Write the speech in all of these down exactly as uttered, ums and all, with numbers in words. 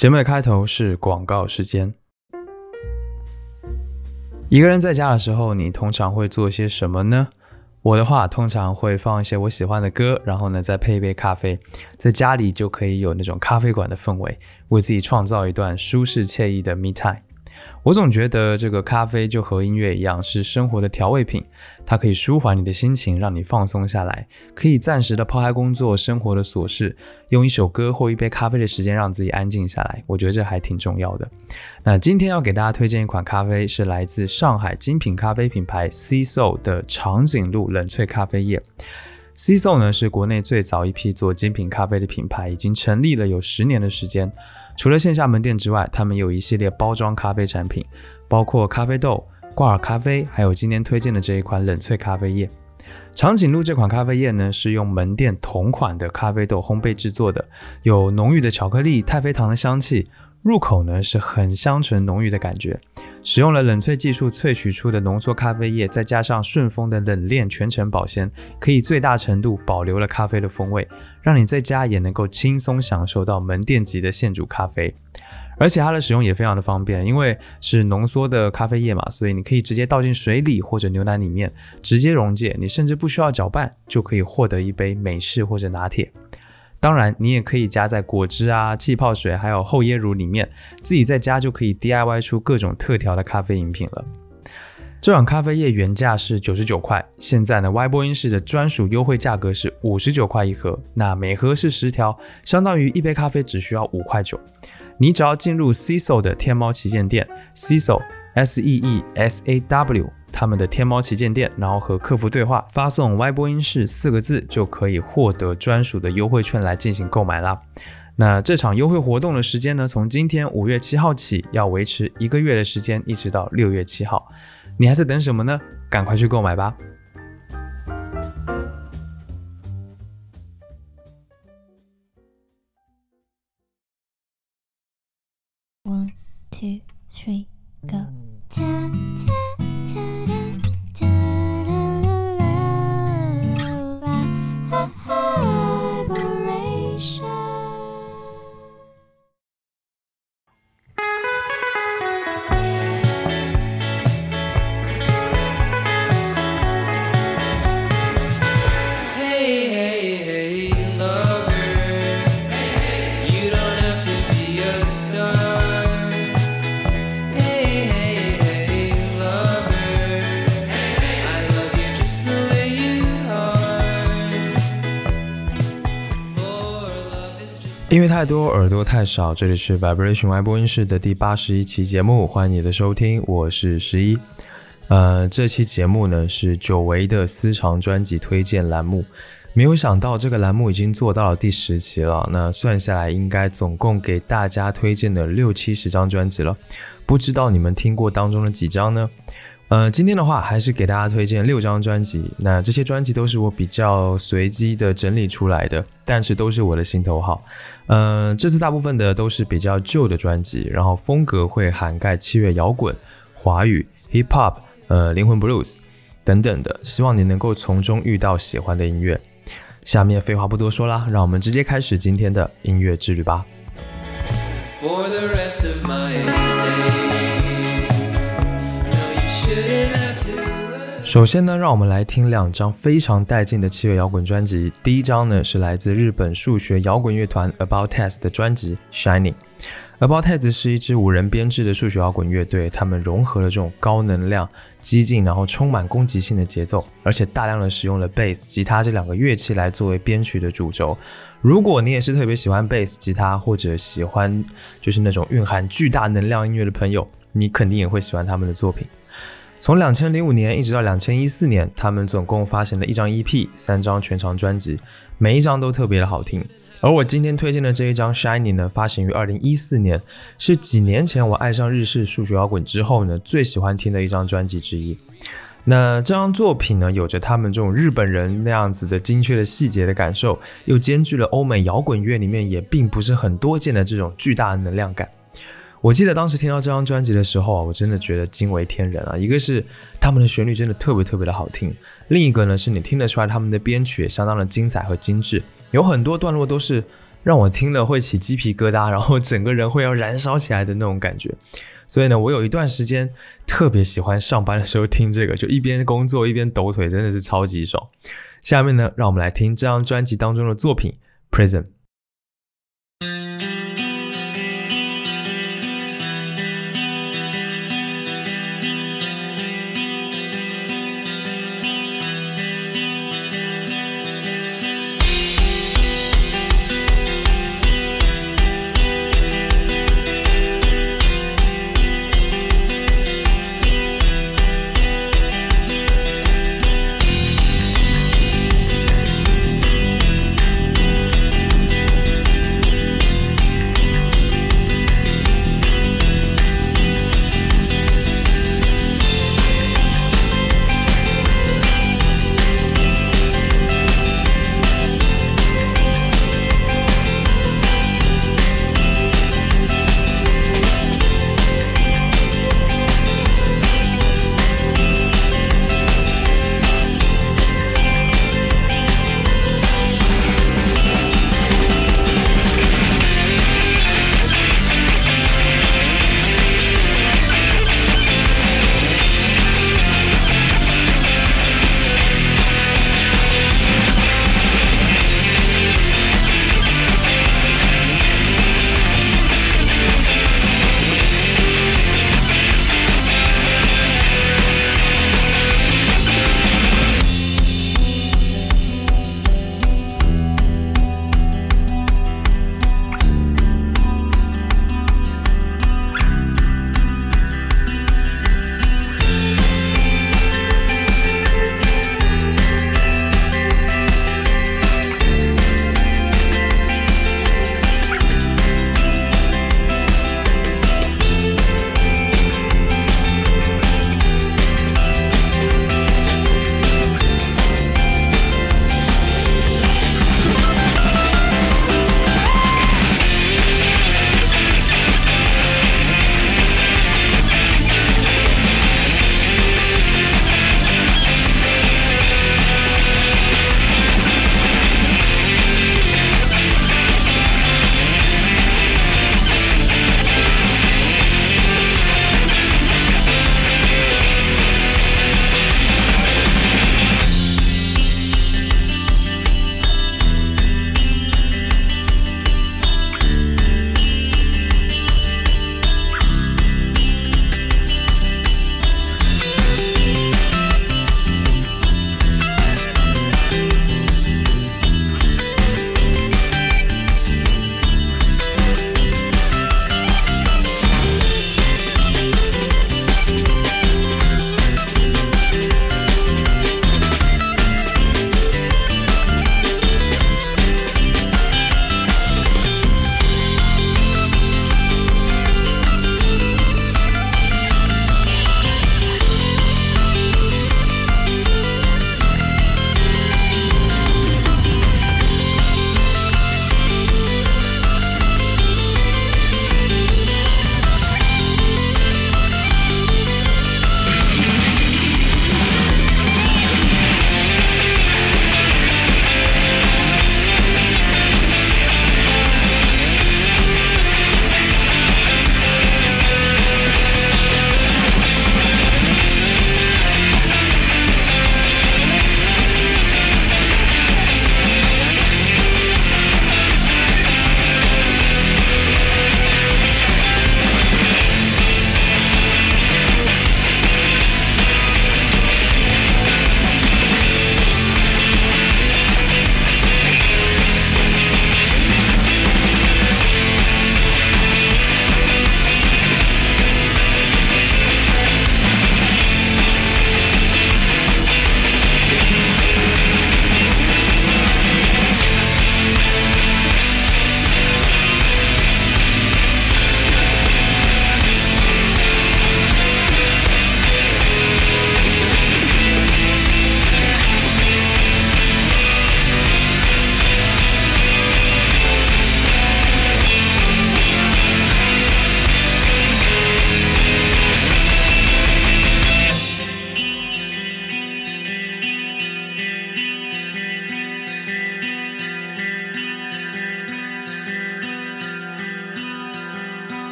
节目的开头是广告时间。一个人在家的时候，你通常会做些什么呢？我的话，通常会放一些我喜欢的歌，然后呢，再配一杯咖啡，在家里就可以有那种咖啡馆的氛围，为自己创造一段舒适惬意的 me time。我总觉得这个咖啡就和音乐一样，是生活的调味品，它可以舒缓你的心情，让你放松下来，可以暂时的抛开工作生活的琐事，用一首歌或一杯咖啡的时间让自己安静下来，我觉得这还挺重要的。那今天要给大家推荐一款咖啡，是来自上海精品咖啡品牌 Sea Soul 的长颈鹿冷萃咖啡液。Sea Soul 呢是国内最早一批做精品咖啡的品牌，已经成立了有十年的时间。除了线下门店之外，他们有一系列包装咖啡产品，包括咖啡豆、挂耳咖啡，还有今天推荐的这一款冷萃咖啡液。长颈鹿这款咖啡液呢，是用门店同款的咖啡豆烘焙制作的，有浓郁的巧克力、太妃糖的香气，入口呢是很香醇浓郁的感觉。使用了冷萃技术萃取出的浓缩咖啡液，再加上顺丰的冷链全程保鲜，可以最大程度保留了咖啡的风味，让你在家也能够轻松享受到门店级的现煮咖啡。而且它的使用也非常的方便，因为是浓缩的咖啡液嘛，所以你可以直接倒进水里或者牛奶里面直接溶解，你甚至不需要搅拌就可以获得一杯美式或者拿铁。当然你也可以加在果汁啊、气泡水还有厚椰乳里面，自己在家就可以 D I Y 出各种特调的咖啡饮品了。这款咖啡液原价是九十九块，现在呢 Y 播音室的专属优惠价格是五十九块一盒，那每盒是十条，相当于一杯咖啡只需要五块九。你只要进入 Sea Soul 的天猫旗舰店 Sea Soul S E E S A W 他们的天猫旗舰店，然后和客服对话，发送 Y 播音室四个字就可以获得专属的优惠券来进行购买啦。那这场优惠活动的时间呢，从今天五月七号起，要维持一个月的时间，一直到六月七号。你还在等什么呢？赶快去购买吧。 One, two, three, go. Ta ta ta ta ta la la vibration. 音乐太多，耳朵太少，这里是 Vibration Y 播音室的第八十一期节目，欢迎你的收听，我是十一。呃，这期节目呢是久违的私藏专辑推荐栏目，没有想到这个栏目已经做到了第十期了，那算下来应该总共给大家推荐了六七十张专辑了，不知道你们听过当中的几张呢？呃，今天的话还是给大家推荐六张专辑，那这些专辑都是我比较随机的整理出来的，但是都是我的心头好。呃，这次大部分的都是比较旧的专辑，然后风格会涵盖七月摇滚、华语、hip hop、呃灵魂 blues 等等的，希望你能够从中遇到喜欢的音乐。下面废话不多说啦，让我们直接开始今天的音乐之旅吧。For the rest of my days首先呢，让我们来听两张非常带劲的七月摇滚专辑。第一张呢是来自日本数学摇滚乐团 About Test 的专辑 Shining。About Test 是一支五人编制的数学摇滚乐队，他们融合了这种高能量、激进，然后充满攻击性的节奏，而且大量的使用了 bass、吉他这两个乐器来作为编曲的主轴。如果你也是特别喜欢 bass、吉他，或者喜欢就是那种蕴含巨大能量音乐的朋友，你肯定也会喜欢他们的作品。从二零零五年一直到二零一四年，他们总共发行了一张 E P、三张全长专辑，每一张都特别的好听。而我今天推荐的这一张 Shining 呢，发行于二零一四年，是几年前我爱上日式数学摇滚之后呢，最喜欢听的一张专辑之一。那这张作品呢，有着他们这种日本人那样子的精确的细节的感受，又兼具了欧美摇滚乐里面也并不是很多见的这种巨大的能量感。我记得当时听到这张专辑的时候啊，我真的觉得惊为天人啊！一个是他们的旋律真的特别特别的好听，另一个呢是你听得出来他们的编曲也相当的精彩和精致，有很多段落都是让我听了会起鸡皮疙瘩，然后整个人会要燃烧起来的那种感觉。所以呢，我有一段时间特别喜欢上班的时候听这个，就一边工作一边抖腿，真的是超级爽。下面呢，让我们来听这张专辑当中的作品 Prism。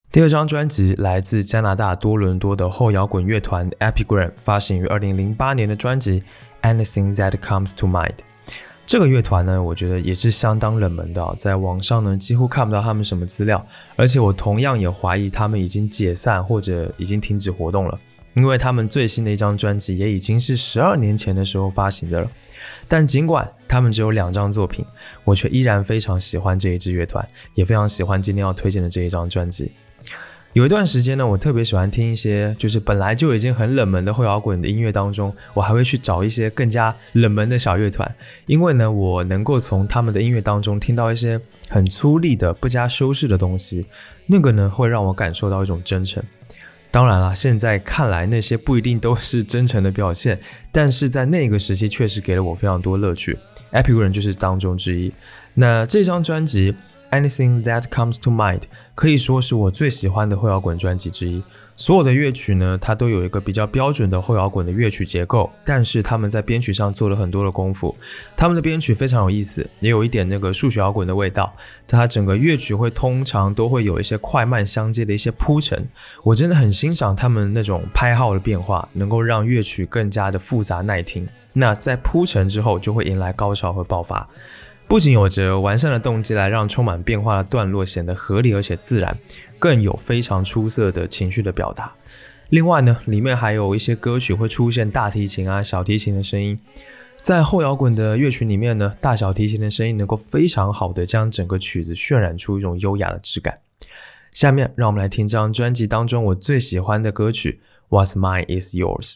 第二张专辑来自加拿大多伦多的后摇滚乐团 Epigram 发行于二零零八年的专辑 Anything That Comes to Mind。 这个乐团呢，我觉得也是相当冷门的、哦、在网上呢几乎看不到他们什么资料，而且我同样也怀疑他们已经解散或者已经停止活动了，因为他们最新的一张专辑也已经是十二年前的时候发行的了。但尽管他们只有两张作品，我却依然非常喜欢这一支乐团，也非常喜欢今天要推荐的这一张专辑。有一段时间呢，我特别喜欢听一些就是本来就已经很冷门的后摇滚的音乐当中，我还会去找一些更加冷门的小乐团，因为呢，我能够从他们的音乐当中听到一些很粗粝的不加修饰的东西，那个呢会让我感受到一种真诚。当然啦，现在看来那些不一定都是真诚的表现，但是在那个时期确实给了我非常多乐趣， Epigram 就是当中之一。那这张专辑Anything That Comes to Mind 可以说是我最喜欢的后摇滚专辑之一。所有的乐曲呢，它都有一个比较标准的后摇滚的乐曲结构，但是他们在编曲上做了很多的功夫。他们的编曲非常有意思，也有一点那个数学摇滚的味道。在它整个乐曲会通常都会有一些快慢相接的一些铺陈，我真的很欣赏他们那种拍号的变化，能够让乐曲更加的复杂耐听。那在铺陈之后，就会迎来高潮和爆发。不仅有着完善的动机来让充满变化的段落显得合理而且自然，更有非常出色的情绪的表达。另外呢，里面还有一些歌曲会出现大提琴啊、小提琴的声音。在后摇滚的乐曲里面呢，大小提琴的声音能够非常好的将整个曲子渲染出一种优雅的质感。下面让我们来听这张专辑当中我最喜欢的歌曲 What's Mine Is Yours。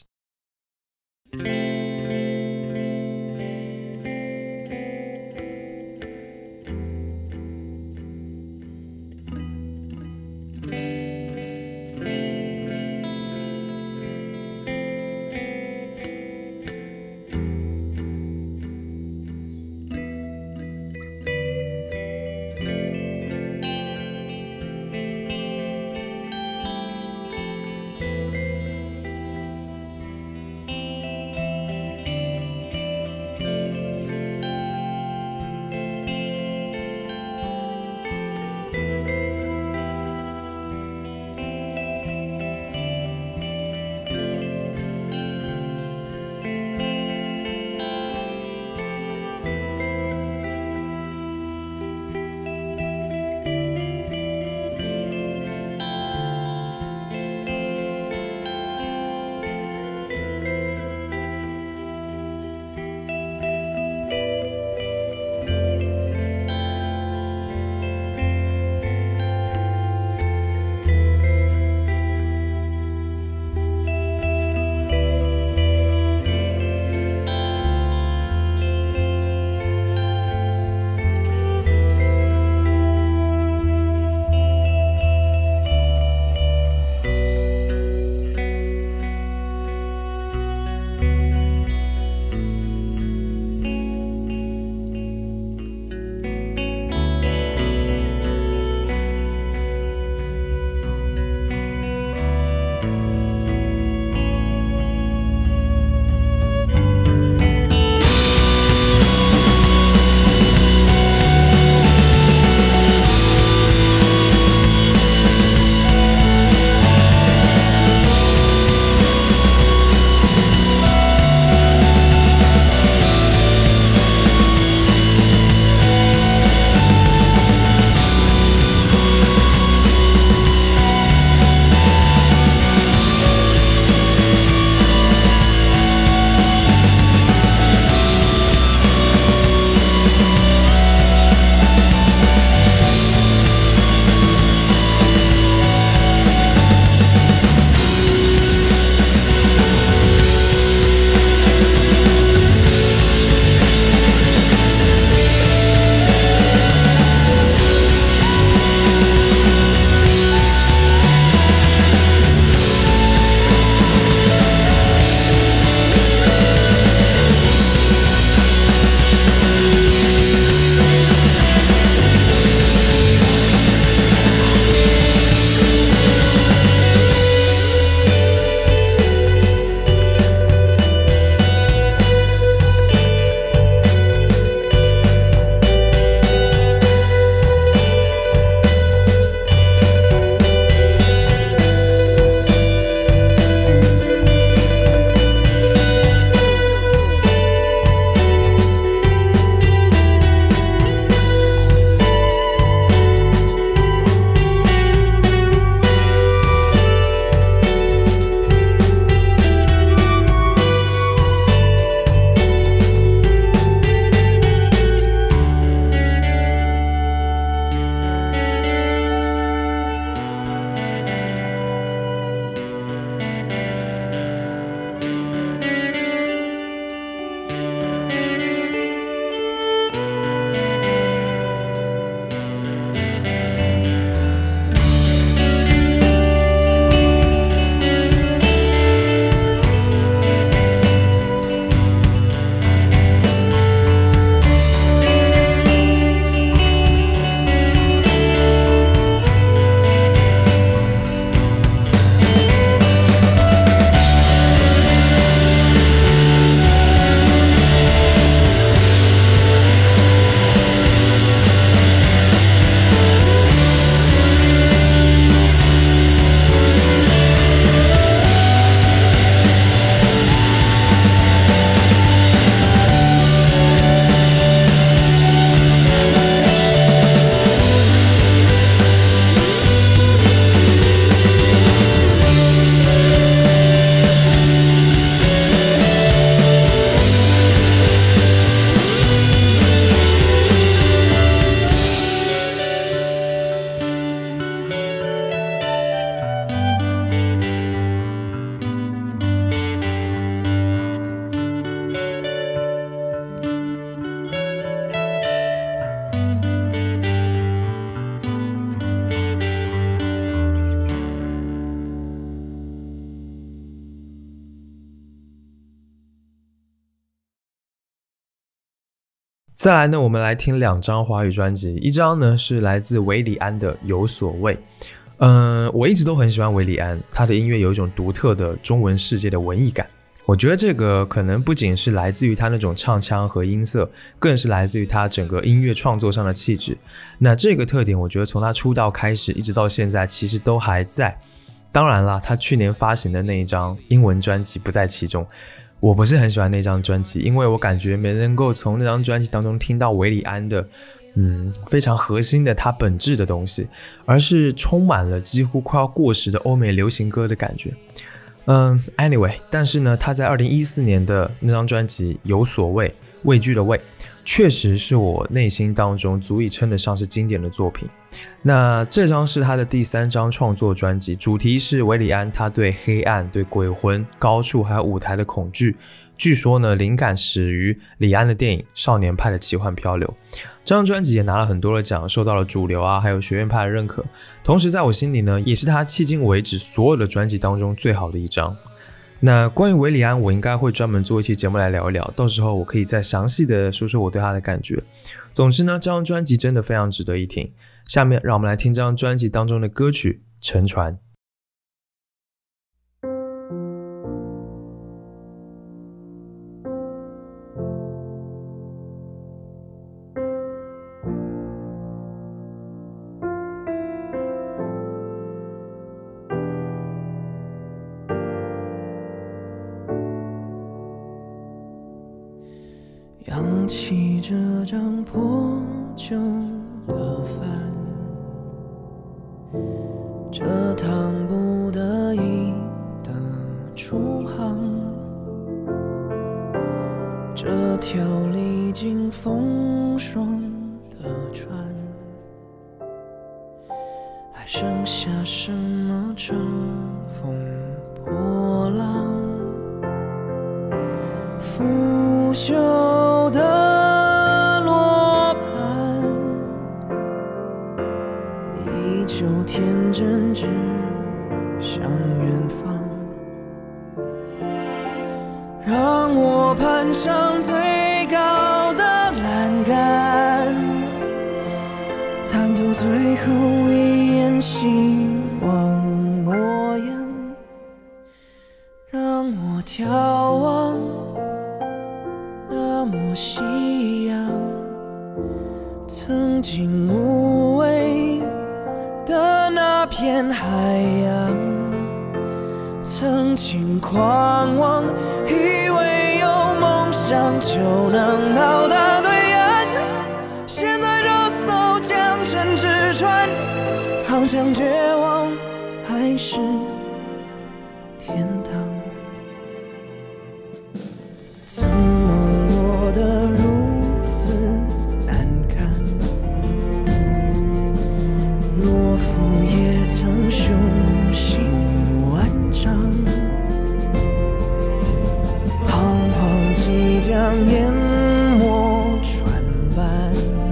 再来呢，我们来听两张华语专辑，一张呢是来自韦礼安的《有所谓》。嗯，我一直都很喜欢韦礼安，他的音乐有一种独特的中文世界的文艺感。我觉得这个可能不仅是来自于他那种唱腔和音色，更是来自于他整个音乐创作上的气质。那这个特点，我觉得从他出道开始一直到现在，其实都还在。当然啦，他去年发行的那一张英文专辑不在其中。我不是很喜欢那张专辑，因为我感觉没能够从那张专辑当中听到韦礼安的嗯，非常核心的他本质的东西，而是充满了几乎快要过时的欧美流行歌的感觉。嗯 ，anyway， 但是呢，他在二零一四年的那张专辑《有所谓》，畏惧的畏，确实是我内心当中足以称得上是经典的作品。那这张是他的第三张创作专辑，主题是韦礼安他对黑暗、对鬼魂、高处还有舞台的恐惧。据说呢，灵感始于李安的电影《少年派的奇幻漂流》。这张专辑也拿了很多的奖，受到了主流啊还有学院派的认可。同时在我心里呢，也是他迄今为止所有的专辑当中最好的一张。那关于韦礼安，我应该会专门做一期节目来聊一聊，到时候我可以再详细的说说我对他的感觉。总之呢，这张专辑真的非常值得一听。下面让我们来听这张专辑当中的歌曲《沉船》。 扬起这张破旧的帆，这趟不得已的出航，这条历经风霜的船，还剩下什么乘风破浪？腐朽的罗盘，依旧天真指向远方，让我攀上最高的栏杆，探透最后一眼希望模样，让我眺望那抹夕阳，曾经无畏的那片海洋，曾经狂妄，以为有梦想就能到达对岸，现在这艘将沉之船，航向绝望还是天堂？怎么落得如此难看？懦夫也曾雄心万丈，彷徨即将淹没船帆，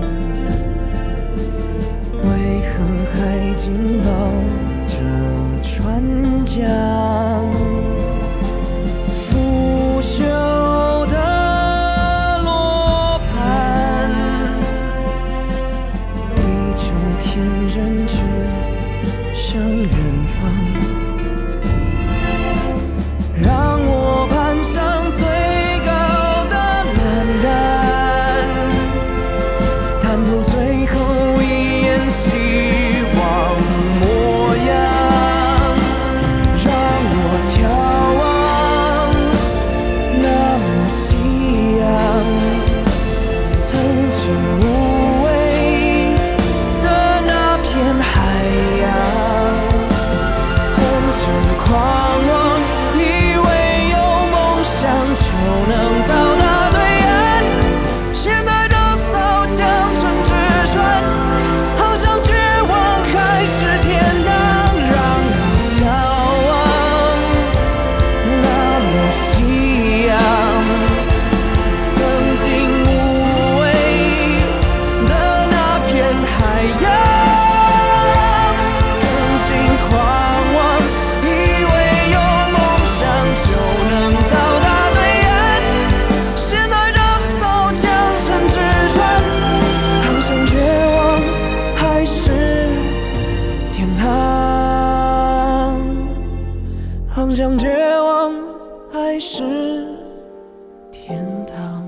为何还紧抱着船桨？腐朽的罗盘，依旧天真指向远方，让我攀上最高的栏杆，探透最后一眼希望模样，让我眺望那抹夕阳，曾经无畏的那片海洋，曾经狂妄，以为有梦想就能。到达对岸，现在这艘将沉之船， 方向绝望还是天堂？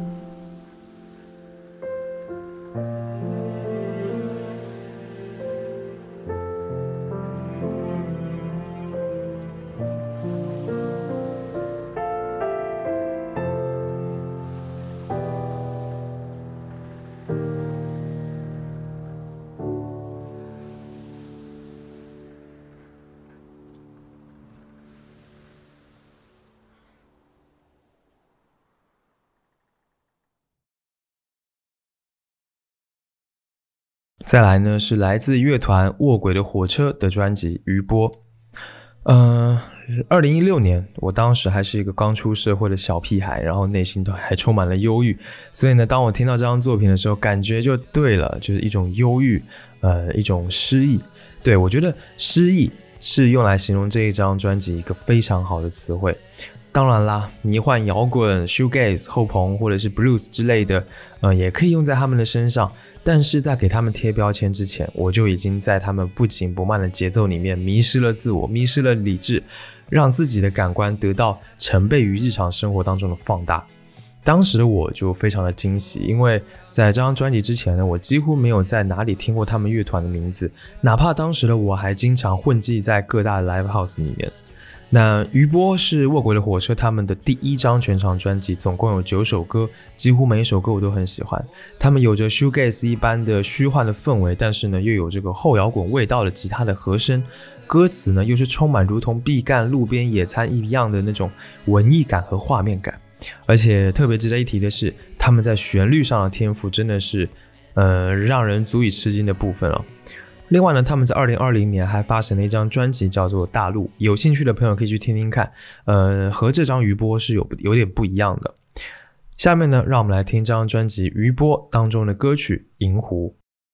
再来呢是来自乐团卧轨的火车的专辑《余波》。呃，二零一六年，我当时还是一个刚出社会的小屁孩，然后内心都还充满了忧郁，所以呢，当我听到这张作品的时候，感觉就对了，就是一种忧郁，呃，一种失意。对，我觉得失意是用来形容这一张专辑一个非常好的词汇。当然啦，迷幻摇滚、shoegaze、后朋或者是 blues 之类的，呃，也可以用在他们的身上。但是在给他们贴标签之前，我就已经在他们不紧不慢的节奏里面迷失了自我，迷失了理智，让自己的感官得到成倍于日常生活当中的放大。当时的我就非常的惊喜，因为在这张专辑之前呢，我几乎没有在哪里听过他们乐团的名字，哪怕当时的我还经常混迹在各大的 live house 里面。那余波是卧轨的火车他们的第一张全长专辑，总共有九首歌，几乎每一首歌我都很喜欢。他们有着 shoegaze 一般的虚幻的氛围，但是呢又有这个后摇滚味道的吉他的和声，歌词呢又是充满如同毕赣路边野餐一样的那种文艺感和画面感。而且特别值得一提的是，他们在旋律上的天赋真的是呃让人足以吃惊的部分了。另外呢，他们在二零二零年还发行了一张专辑叫做《大陆》，有兴趣的朋友可以去听听看，呃，和这张余波是有有点不一样的。下面呢，让我们来听这张专辑《余波》当中的歌曲《银湖》。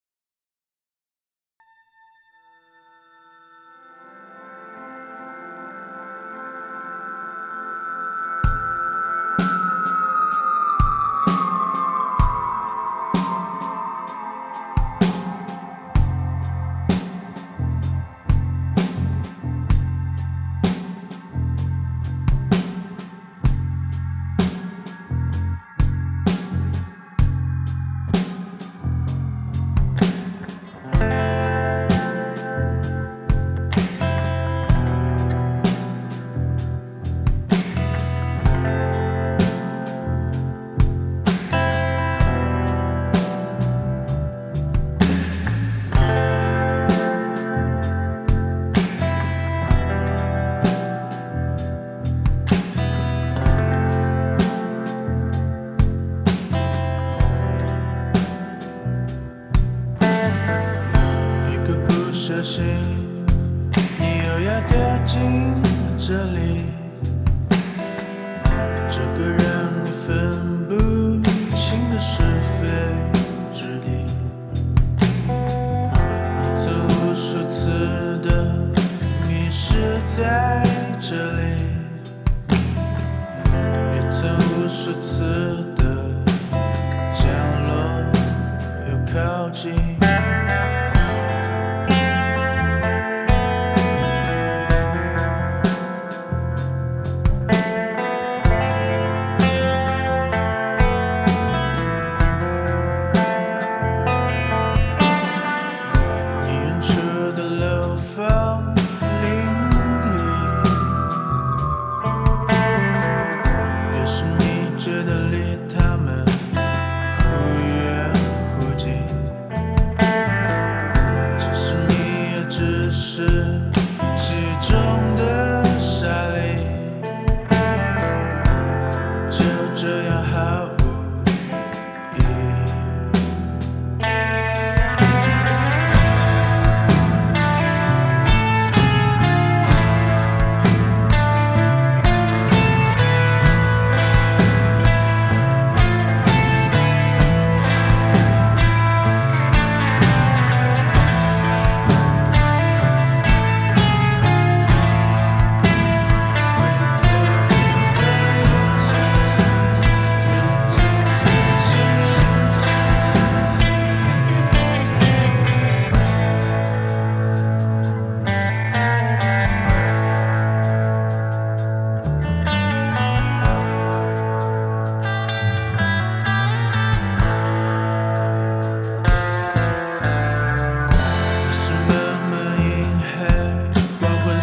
小心，你又要掉进这里，这个让你分不清的是非之地。你曾无数次的迷失在这里，也曾无数次的降落又靠近。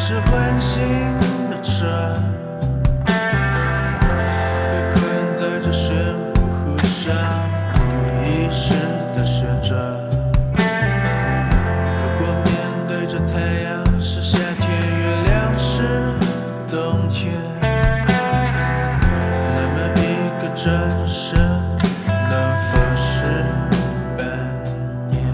是唤醒的船，被困在这漩涡湖上，无意识的旋转。如果面对着太阳是夏天，月亮是冬天，那么一个转身能否是半年？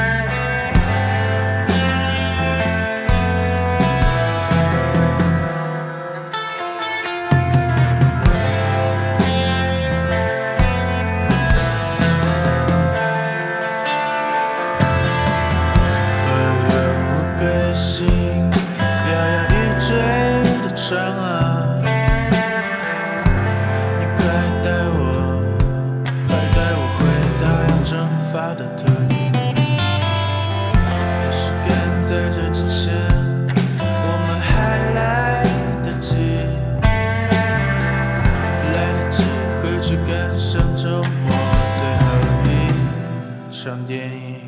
电影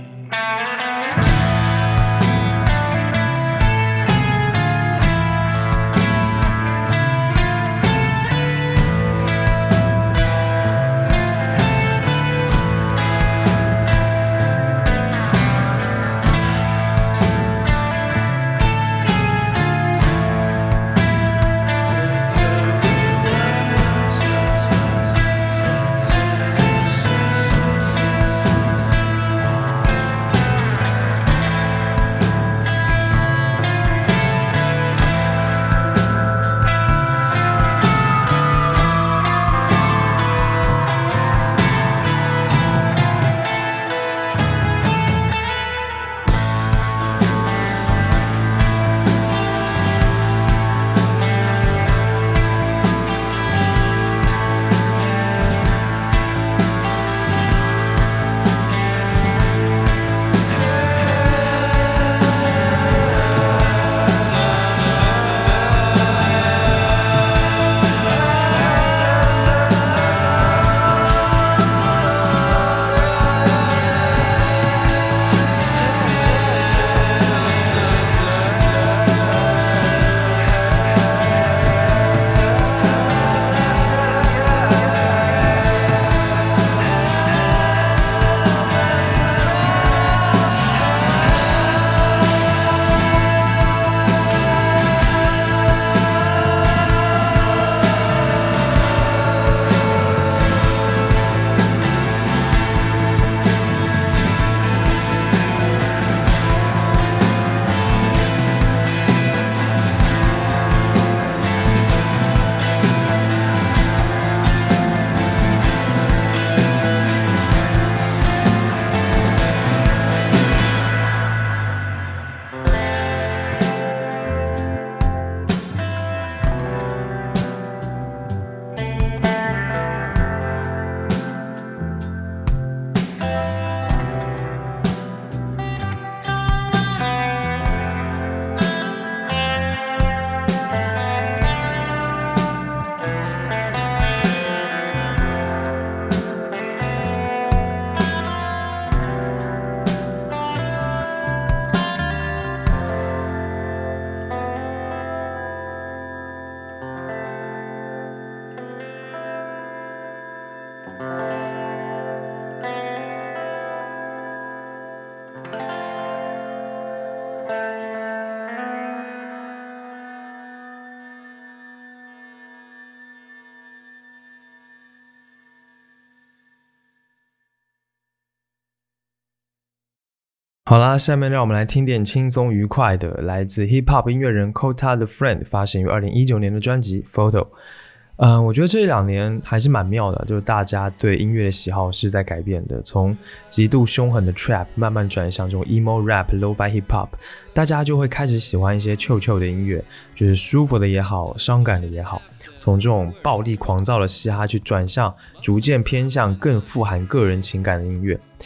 好啦，下面让我们来听点轻松愉快的，来自 hip hop 音乐人 Kota the Friend 发行于二零一九年的专辑 Photo。嗯、呃，我觉得这一两年还是蛮妙的，就是大家对音乐的喜好是在改变的，从极度凶狠的 trap 慢慢转向这种 emo rap、lo-fi hip hop， 大家就会开始喜欢一些 chill chill 的音乐，就是舒服的也好，伤感的也好，从这种暴力狂躁的嘻哈去转向逐渐偏向更富含个人情感的音乐。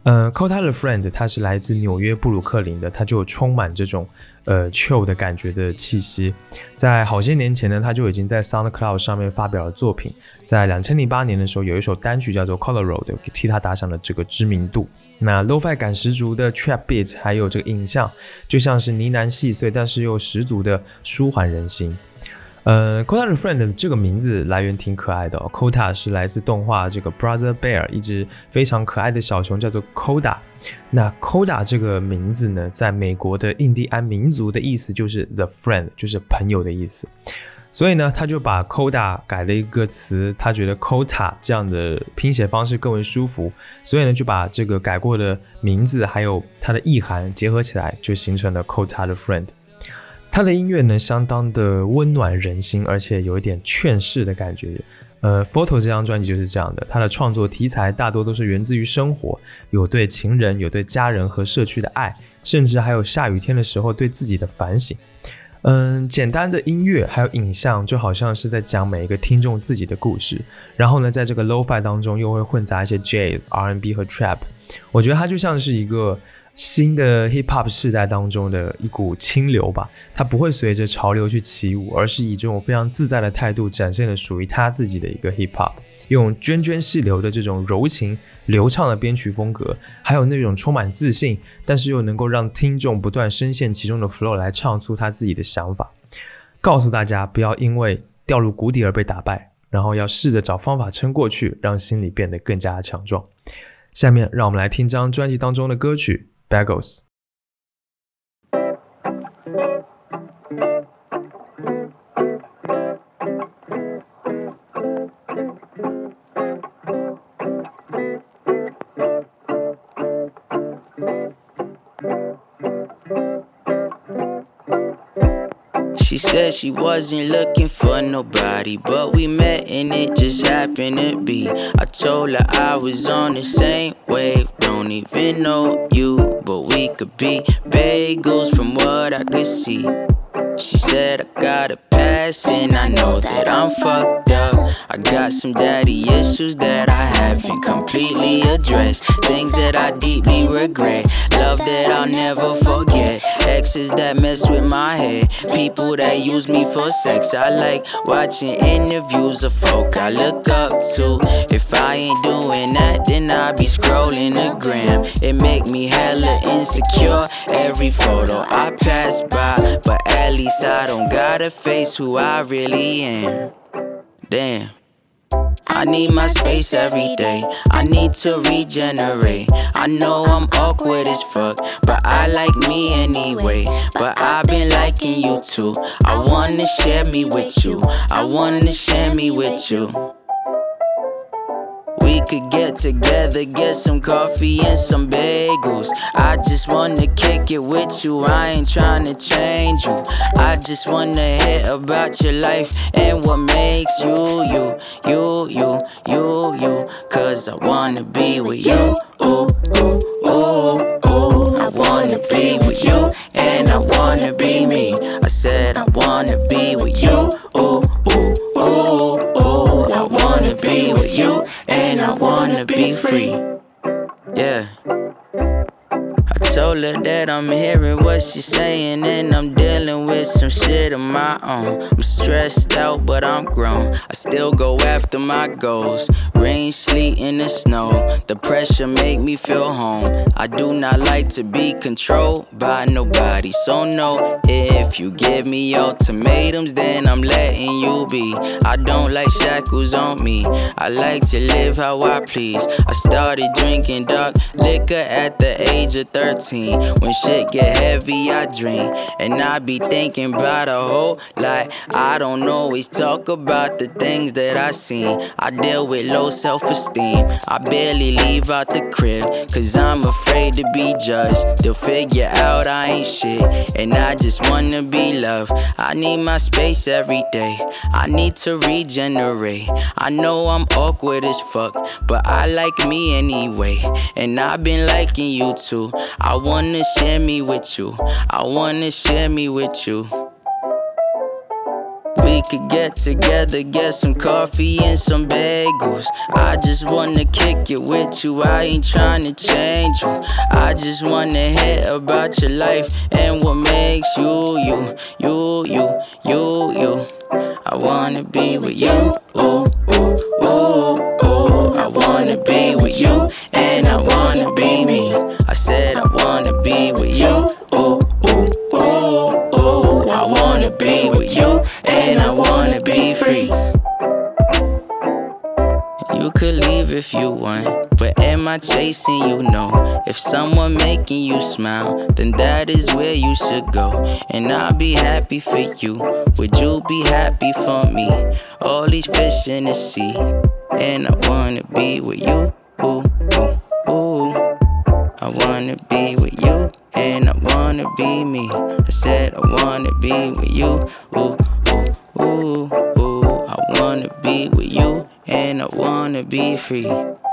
呃 Kota the Friend 它是来自纽约布鲁克林的，它就有充满这种呃 chill 的感觉的气息。在好些年前呢，它就已经在 SoundCloud 上面发表了作品，在二零零八年的时候有一首单曲叫做 Colorado 替它打响了这个知名度。那 lo-fi 感十足的 trap beat 还有这个影像就像是呢喃细碎但是又十足的舒缓人心。呃 Kota the Friend 这个名字来源挺可爱的哦 Kota 是来自动画这个 Brother Bear 一只非常可爱的小熊叫做 Koda。 那 Koda 这个名字呢，在美国的印第安民族的意思就是 the friend， 就是朋友的意思，所以呢他就把 Koda 改了一个词，他觉得 Kota 这样的拼写方式更为舒服，所以呢就把这个改过的名字还有它的意涵结合起来，就形成了 Kota the Friend。他的音乐呢，相当的温暖人心，而且有一点劝世的感觉。呃 ，Photo 这张专辑就是这样的，他的创作题材大多都是源自于生活，有对情人、有对家人和社区的爱，甚至还有下雨天的时候对自己的反省。嗯，简单的音乐还有影像，就好像是在讲每一个听众自己的故事。然后呢，在这个 lo-fi 当中又会混杂一些 jazz、R and B 和 trap， 我觉得它就像是一个新的 hip hop 世代当中的一股清流吧，它不会随着潮流去起舞，而是以这种非常自在的态度展现了属于他自己的一个 hip hop， 用涓涓细流的这种柔情流畅的编曲风格，还有那种充满自信但是又能够让听众不断深陷其中的 flow 来唱出他自己的想法，告诉大家不要因为掉入谷底而被打败，然后要试着找方法撑过去，让心里变得更加强壮。下面让我们来听这张专辑当中的歌曲Bagels。 She said she wasn't looking for nobody, but we met and it just happened to be. I told her I was on the same wave, don't even know you, but we could be bagels from what I could see. She said I got a pass and I know that I'm fucked up. I got some daddy issues that I haven't completely addressed, things that I deeply regret, love that I'll never forget, exes that mess with my head, people that use me for sex. I like watching interviews of folk I look up to. If I ain't doing that, then I be scrolling the gram. It make me hella insecure every photo I pass by, but at least I don't gotta face who I really am. Damn, I need my space every day, I need to regenerate. I know I'm awkward as fuck, but I like me anyway. But I've been liking you too, I wanna share me with you, I wanna share me with you. We could get together, get some coffee and some bagels. I just wanna kick it with you, I ain't tryna change you. I just wanna hear about your life and what makes you, you, you, you, you, you. Cause I wanna be with you, ooh, ooh, ooh, ooh. I wanna be with you and I wanna be me. I said I wanna be with you, ooh, ooh, ooh, ooh. I wanna be with you and I wanna be free. Yeah, I told her that I'm hearing what she's saying and I'm dealing with some shit of my own. I'm stressed out but I'm grown, I still go after my goals. Rain, sleet, and the snow, the pressure make me feel home. I do not like to be controlled by nobody, so no, if you give me ultimatums then I'm letting you be. I don't like shackles on me, I like to live how I please. I started drinking dark liquor at the age of thirteen. When shit get heavy I dream, and I be thinking about a whole lot. I don't always talk about the things that I seen. I deal with low self-esteem, I barely leave out the crib, cause I'm afraid to be judged. They'll figure out I ain't shit, and I just wanna be loved. I need my space every day, I need to regenerate. I know I'm awkward as fuck, but I like me anyway. And I've been liking you too, I wanna share me with you, I wanna share me with you. We could get together, get some coffee and some bagels. I just wanna kick it with you, I ain't tryna change you. I just wanna hear about your life and what makes you, you, you, you, you, you. I wanna be with you, ooh, ooh, ooh, ooh. I wanna be with you, and I wanna be me. I said I wanna be with you, ooh, ooh, ooh, ooh. I wanna be with you, and I wanna be free. You could leave if you want, but am I chasing you? No. If someone making you smile, then that is where you should go. And I'll be happy for you. Would you be happy for me? All these fish in the sea, and I wanna be with you. Ooh, ooh, ooh. I wanna be with you, and I wanna be me. I said I wanna be with you. Ooh, ooh, ooh, ooh. I wanna be with you, and I wanna be free.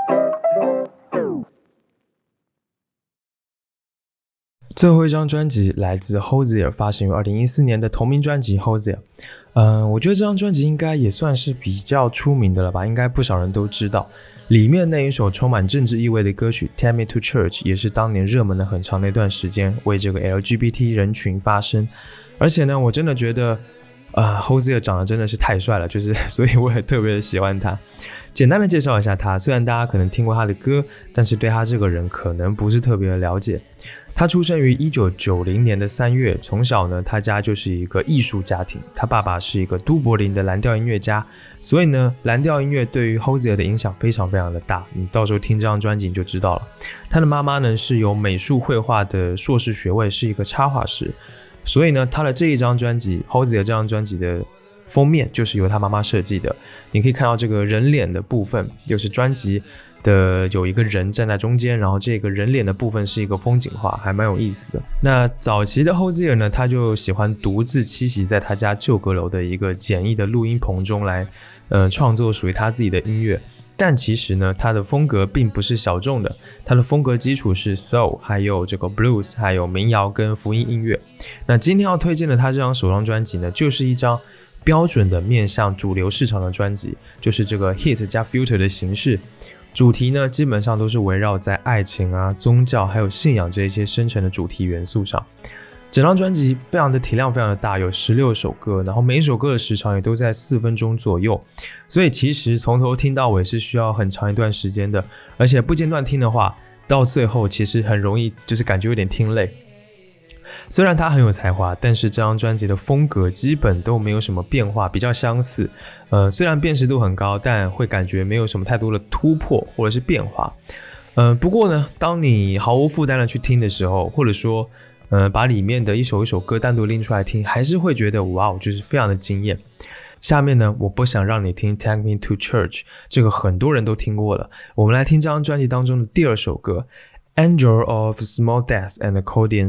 最后一张专辑来自 Hozier， 发行于二零一四年的同名专辑 Hozier。嗯，我觉得这张专辑应该也算是比较出名的了吧，应该不少人都知道。里面那一首充满政治意味的歌曲 Take Me to Church 也是当年热门的很长的一段时间，为这个 L G B T 人群发声。而且呢，我真的觉得呃 Hozier 长得真的是太帅了，就是所以我也特别的喜欢他。简单的介绍一下他，虽然大家可能听过他的歌，但是对他这个人可能不是特别的了解。他出生于一九九零年的三月，从小呢，他家就是一个艺术家庭，他爸爸是一个都柏林的蓝调音乐家，所以呢，蓝调音乐对于 Hozier 的影响非常非常的大，你到时候听这张专辑你就知道了。他的妈妈呢是有美术绘画的硕士学位，是一个插画师，所以呢，他的这一张专辑 Hozier 这张专辑的封面就是由他妈妈设计的，你可以看到这个人脸的部分，就是专辑的有一个人站在中间，然后这个人脸的部分是一个风景画，还蛮有意思的。那早期的 Hozier 呢，他就喜欢独自栖息在他家旧阁楼的一个简易的录音棚中来呃，创作属于他自己的音乐。但其实呢，他的风格并不是小众的，他的风格基础是 soul， 还有这个 blues， 还有民谣跟福音音乐。那今天要推荐的他这张首张专辑呢，就是一张标准的面向主流市场的专辑，就是这个 hit 加 filter 的形式。主题呢，基本上都是围绕在爱情啊、宗教还有信仰这一些深层的主题元素上。整张专辑非常的体量非常的大，有十六首歌，然后每一首歌的时长也都在四分钟左右，所以其实从头听到尾是需要很长一段时间的，而且不间断听的话，到最后其实很容易就是感觉有点听累。虽然他很有才华，但是这张专辑的风格基本都没有什么变化，比较相似。呃，虽然辨识度很高，但会感觉没有什么太多的突破或者是变化。呃，不过呢，当你毫无负担的去听的时候，或者说呃把里面的一首一首歌单独拎出来听，还是会觉得哇，就是非常的惊艳。下面呢，我不想让你听 Take Me to Church， 这个很多人都听过了。我们来听这张专辑当中的第二首歌 Angel of Small Death and Accordion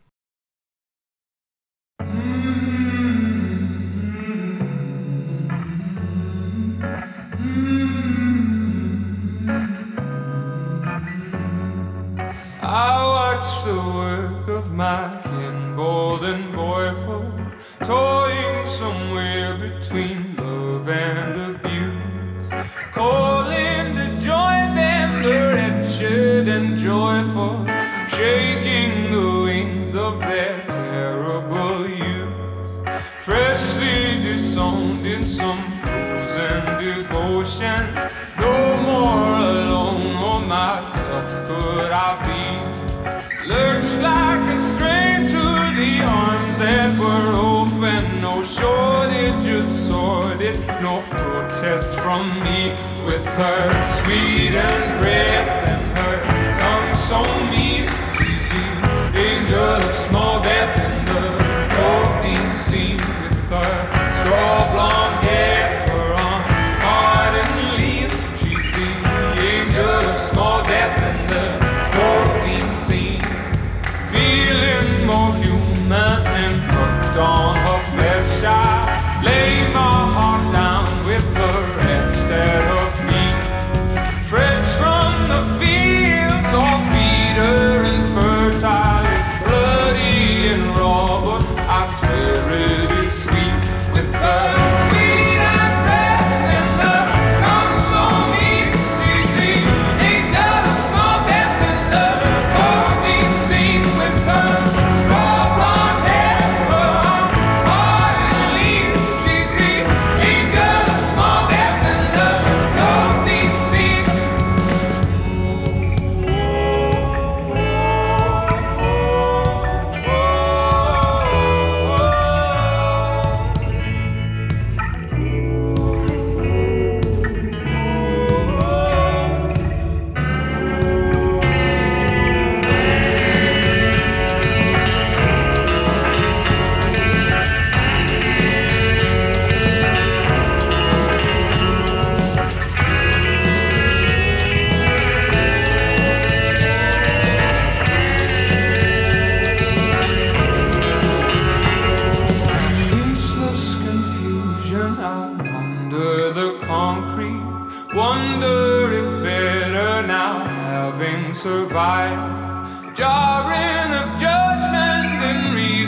Sing。I watch the work of my kin, bold and boyful, toying somewhere between love and abuse, calling to join them, the wretched and joyful, shaking the wings of their terrible youth, freshly disowned in some frozen devotion. No more alone or myself could I be, lurched like a stray to the arms that were open. No shortage of sordid, no protest from me. With her sweetened breath and her tongue so mean, she's the angel of small death in the golden scene. With her straw blonde hair, her arm hard and lean, she's the angel of small death in the golden scene. Feeling more human and hooked on her flesh, I lay my heart down with the rest at her feet. Fresh from the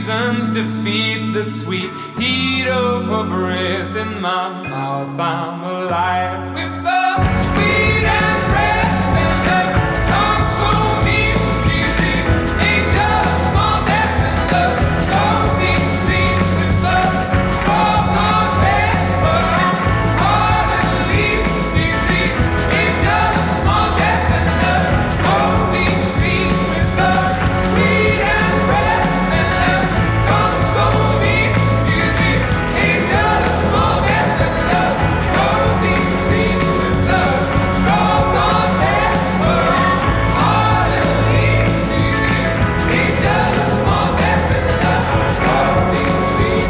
reasons defeat the sweet heat of her breath in my mouth. I'm alive with the sweet and breath and the tongue so mean. She's the angel of small death and the loading scene with the strong on bed, but I'm hard and leave. She's the angel of small death and the loading scene with the sweet and breath and the tongue so mean. She's the angel of small death and the loading scene with the strong on bed, but I'm hard and leave. She's the angel of small death and the loading scene.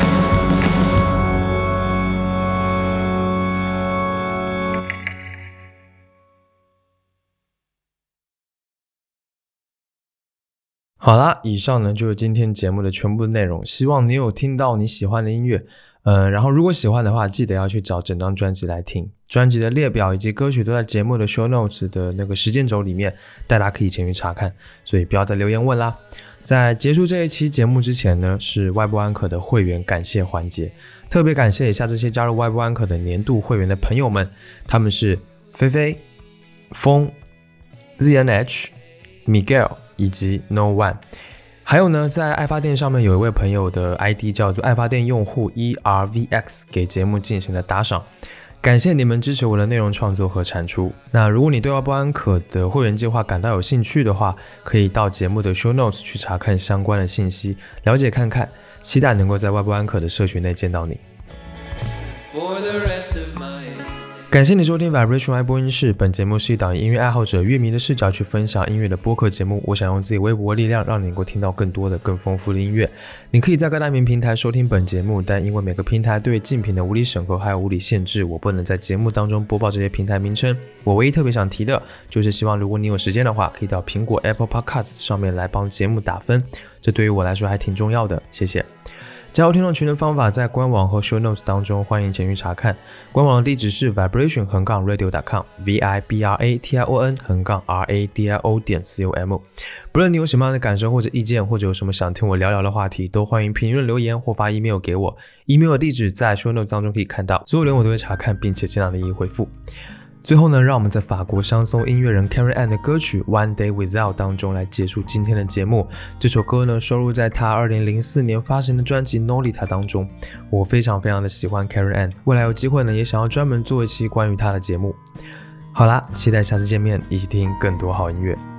好啦，以上呢就是今天节目的全部内容，希望你有听到你喜欢的音乐，呃，然后如果喜欢的话，记得要去找整张专辑来听，专辑的列表以及歌曲都在节目的 show notes 的那个时间轴里面，大家可以前去查看，所以不要再留言问啦。在结束这一期节目之前呢，是外部安可的会员感谢环节，特别感谢一下这些加入外部安可的年度会员的朋友们，他们是菲菲、风、Z N H、Miguel 以及 No One。 还有呢，在爱发电上面有一位朋友的 I D 叫做爱发电用户 E R V X 给节目进行了打赏，感谢你们支持我的内容创作和产出。那如果你对外部安可的会员计划感到有兴趣的话，可以到节目的 show notes 去查看相关的信息，了解看看，期待能够在外部安可的社群内见到你。 For the rest of my 感谢你收听 Vibration I 播音室，本节目是一档以音乐爱好者乐迷的视角去分享音乐的播客节目，我想用自己微薄的力量让你能够听到更多的更丰富的音乐。你可以在各大音频平台收听本节目，但因为每个平台对竞品的无理审核还有无理限制，我不能在节目当中播报这些平台名称。我唯一特别想提的就是希望如果你有时间的话，可以到苹果 Apple Podcast 上面来帮节目打分，这对于我来说还挺重要的，谢谢。加入听众群的方法在官网和 show notes 当中，欢迎前去查看。官网的地址是 vibration 横杠 radio 点 com v i b r a t i o n 横杠 r a d i o 点 com。不论你有什么样的感受或者意见，或者有什么想听我聊聊的话题，都欢迎评论留言或发 email 给我。email 的地址在 show notes 当中可以看到，所有留言我都会查看，并且尽量的一一回复。最后呢，让我们在法国香颂音乐人 Karen Ann 的歌曲 One Day Without 当中来结束今天的节目。这首歌呢收录在她二零零四年发行的专辑 Nolita 当中。我非常非常的喜欢 Karen Ann， 未来有机会呢也想要专门做一期关于她的节目。好啦，期待下次见面，一起听更多好音乐。